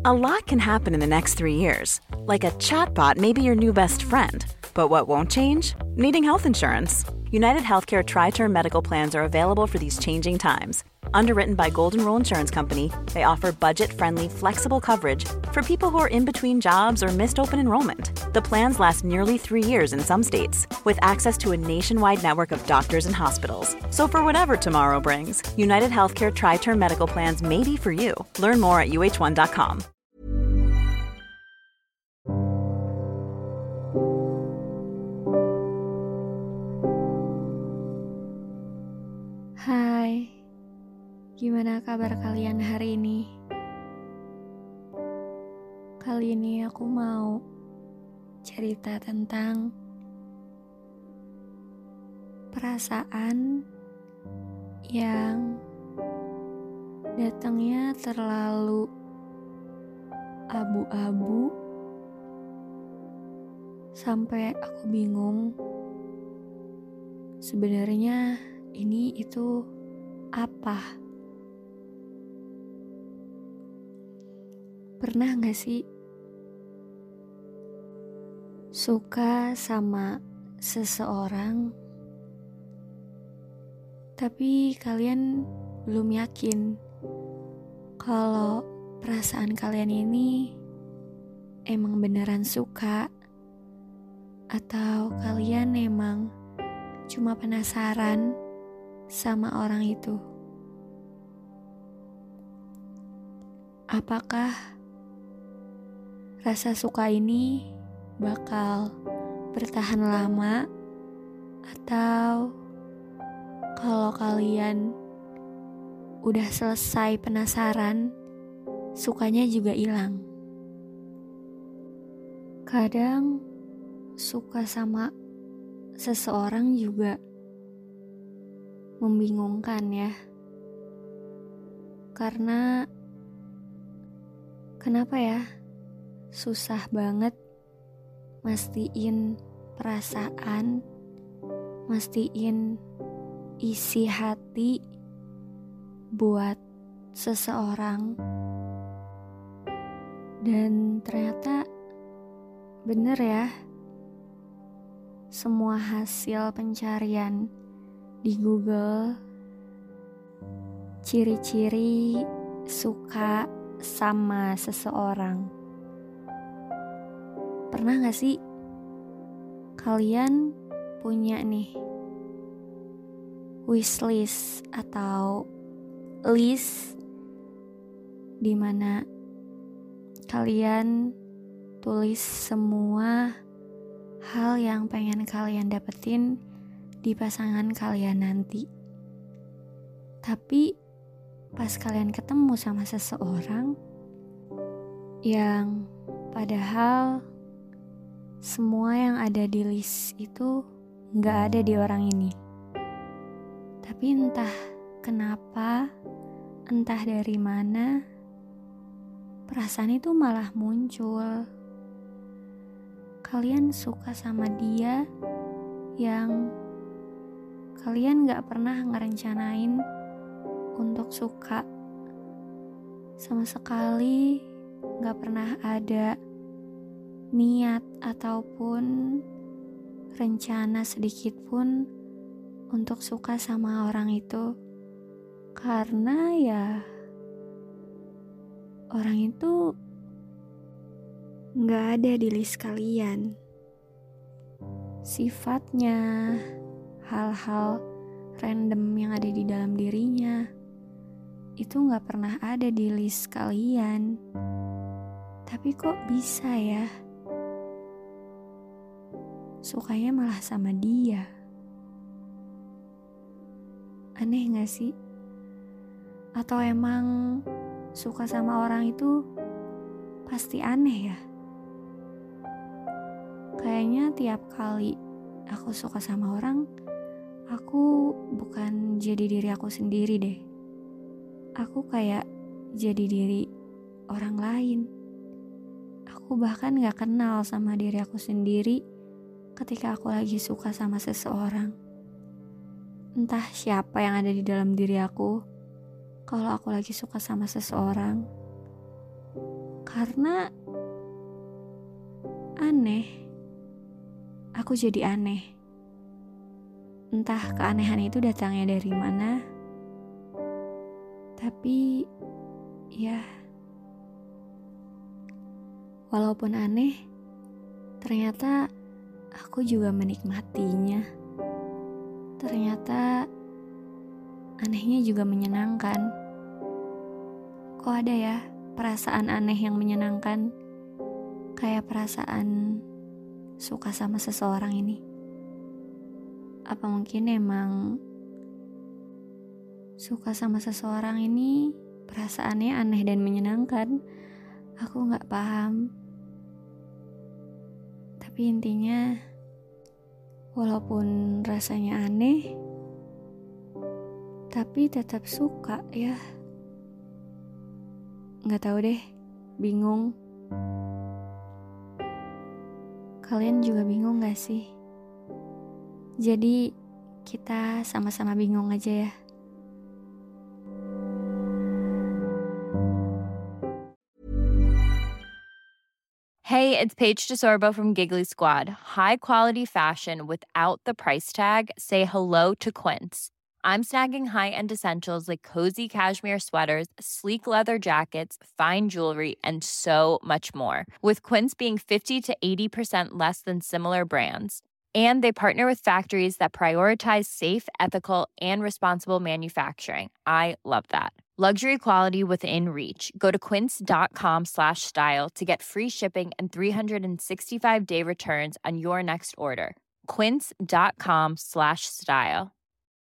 A lot can happen in the next 3 years. Like a chatbot may be your new best friend. But what won't change? Needing health insurance. United Healthcare Tri-Term Medical Plans are available for these changing times. Underwritten by Golden Rule Insurance Company, they offer budget-friendly, flexible coverage for people who are in between jobs or missed open enrollment. The plans last nearly 3 years in some states, with access to a nationwide network of doctors and hospitals. So for whatever tomorrow brings, United Healthcare Tri-Term Medical Plans may be for you. Learn more at uh1.com. Hai, gimana kabar kalian hari ini? Kali ini aku mau cerita tentang perasaan yang datangnya terlalu abu-abu sampai aku bingung sebenarnya ini itu apa? Pernah gak sih suka sama seseorang tapi kalian belum yakin kalau perasaan kalian ini emang beneran suka atau kalian emang cuma penasaran sama orang itu? Apakah rasa suka ini bakal bertahan lama atau kalau kalian udah selesai penasaran, sukanya juga hilang? Kadang suka sama seseorang juga membingungkan ya. Karena kenapa ya susah banget mastiin perasaan, mastiin isi hati buat seseorang. Dan ternyata bener ya, semua hasil pencarian di Google, ciri-ciri suka sama seseorang. Pernah gak sih kalian punya nih wishlist atau list dimana kalian tulis semua hal yang pengen kalian dapetin di pasangan kalian nanti. Tapi pas kalian ketemu sama seseorang yang padahal semua yang ada di list itu gak ada di orang ini. Tapi entah kenapa, entah dari mana, perasaan itu malah muncul. Kalian suka sama dia yang kalian gak pernah ngerencanain untuk suka. Sama sekali gak pernah ada niat ataupun rencana sedikit pun untuk suka sama orang itu. Karena ya orang itu gak ada di list kalian. Sifatnya, hal-hal random yang ada di dalam dirinya itu gak pernah ada di list kalian. Tapi kok bisa ya sukanya malah sama dia? Aneh gak sih? Atau emang suka sama orang itu pasti aneh ya? Kayaknya tiap kali aku suka sama orang, aku bukan jadi diri aku sendiri deh. Aku kayak jadi diri orang lain. Aku bahkan gak kenal sama diri aku sendiri ketika aku lagi suka sama seseorang. Entah siapa yang ada di dalam diri aku kalau aku lagi suka sama seseorang. Karena aneh. Aku jadi aneh. Entah keanehan itu datangnya dari mana. Tapi ya, walaupun aneh, ternyata aku juga menikmatinya. Ternyata anehnya juga menyenangkan. Kok ada ya perasaan aneh yang menyenangkan? Kayak perasaan suka sama seseorang ini. Apa mungkin emang suka sama seseorang ini perasaannya aneh dan menyenangkan? Aku gak paham. Tapi intinya, walaupun rasanya aneh, tapi tetap suka ya. Gak tahu deh, bingung. Kalian juga bingung gak sih? Jadi kita sama-sama bingung aja ya. Hey, it's Paige DeSorbo from Giggly Squad. High quality fashion without the price tag. Say hello to Quince. I'm snagging high-end essentials like cozy cashmere sweaters, sleek leather jackets, fine jewelry, and so much more. With Quince being 50 to 80% less than similar brands. And they partner with factories that prioritize safe, ethical, and responsible manufacturing. I love that. Luxury quality within reach. Go to quince.com/style to get free shipping and 365-day returns on your next order. Quince.com/style.